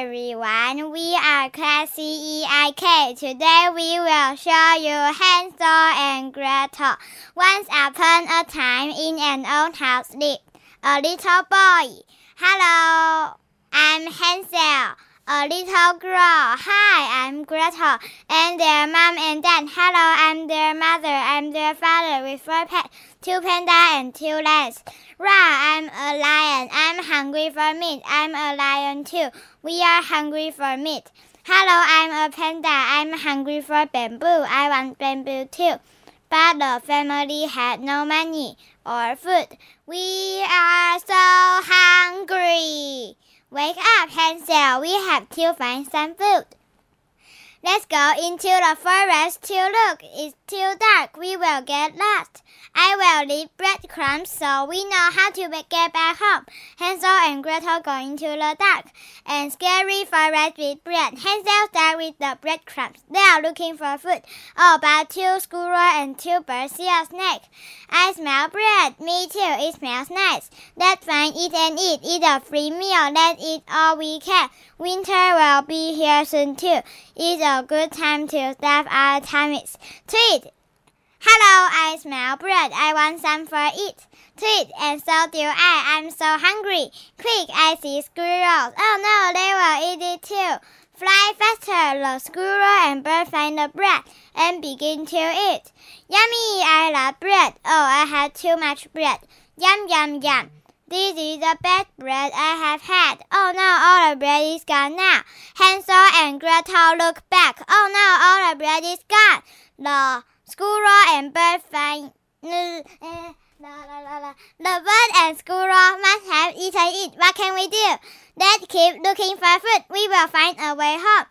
everyone, we are Class CEIK. Today we will show you Hansel and Gretel. Once upon a time in an old house lived a little boy. Hello, I'm Hansel. A little girl. Hi, I'm Gretel. And their mom and dad. Hello, I'm their mother. I'm their father with 4 pets, 2 pandas and 2 lions. Rah, I'm a lion. I'm hungry for meat. I'm a lion too. We are hungry for meat. Hello, I'm a panda. I'm hungry for bamboo. I want bamboo too. But the family had no money or food. We are so hungry. Wake up, Hansel. We have to find some food. Let's go into the forest to look. It's too dark. We will get lost. I will leave breadcrumbs so we know how to get back home. Hansel and Gretel go into the dark and scary forest with bread. Hansel starts with the breadcrumbs. They are looking for food. Oh, but 2 squirrels and 2 birds see a snake. I smell bread. Me too. It smells nice. Let's find it and eat. Eat a free meal. Let's eat all we can. Winter will be here soon too. It's a good time to stuff our tummies. Tweet! Hello, I smell bread. I want some for it. Tweet, and so do I. I'm so hungry. Quick, I see squirrels. Oh no, they will eat it too. Fly faster. The squirrel and bird find the bread and begin to eat. Yummy, I love bread. Oh, I had too much bread. Yum, yum, yum. This is the best bread I have had. Oh no, all the bread is gone now. Hansel and Gretel look back. Oh no, all the bread is gone. The squirrel and bird find... The bird and squirrel must have eaten it. What can we do? Let's keep looking for food. We will find a way home.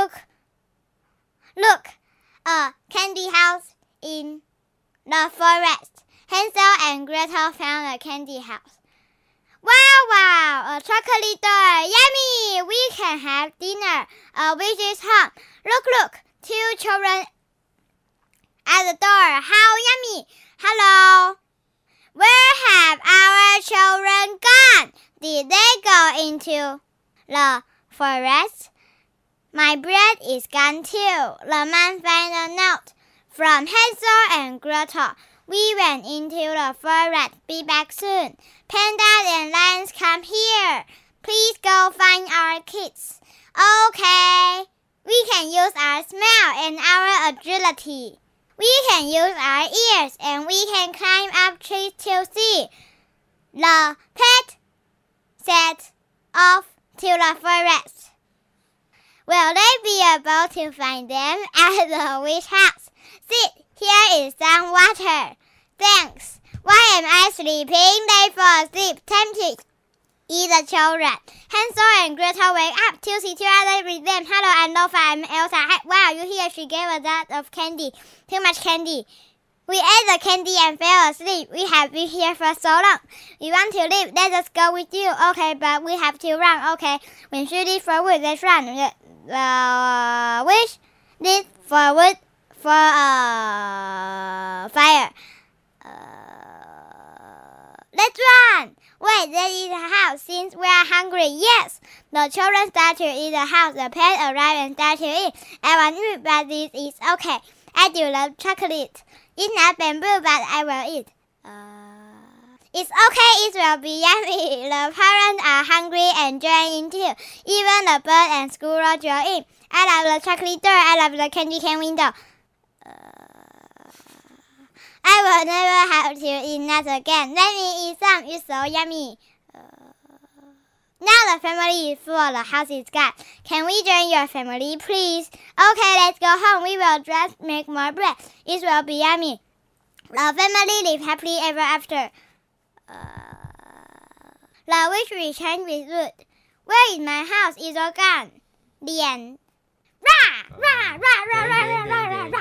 Look, a candy house in the forest. Hansel and Gretel found a candy house. Wow, a chocolate door. Yummy, we can have dinner. A witch's home. Look, 2 children at the door. How yummy. Hello. Where have our children gone? Did they go into the forest? My bread is gone too. The man found a note from Hansel and Gretel. We went into the forest. Be back soon. Pandas and lions, come here. Please go find our kids. Okay. We can use our smell and our agility. We can use our ears and we can climb up trees to see. The pet set off to the forest. Will they be able to find them at the witch house? Sit, here is some water. Thanks. Why am I sleeping? They fall asleep. Time to eat the children. Hansel and Gretel wake up. To see 2 others with them. Hello, I'm Lofa. I'm Elsa. Wow, you hear? She gave a lot of candy. Too much candy. We ate the candy and fell asleep. We have been here for so long. We want to leave. Let us go with you. Okay, but we have to run. Okay, when she leaves for wood, let's run. Wish leaves for wood for fire. Let's run! Wait, there is a house. Since we are hungry, yes. The children start to eat the house. The pets arrive and start to eat. I want meat, but this is okay. I do love chocolate. It's not bamboo, but I will eat. It's okay. It will be yummy. The parents are hungry and join in too. Even the bird and squirrel join in. I love the chocolate door. I love the candy cane window. I will never have to eat nuts again. Let me eat some. It's so yummy. Now the family is full. The house is gone. Can we join your family, please? Okay, let's go home. We will just make more bread. It will be yummy. The family live happily ever after. The witch returned with wood. Where is my house? It's all gone. The end. Rah! Rah! Rah! Rah! Rah! Rah! Rah! Rah!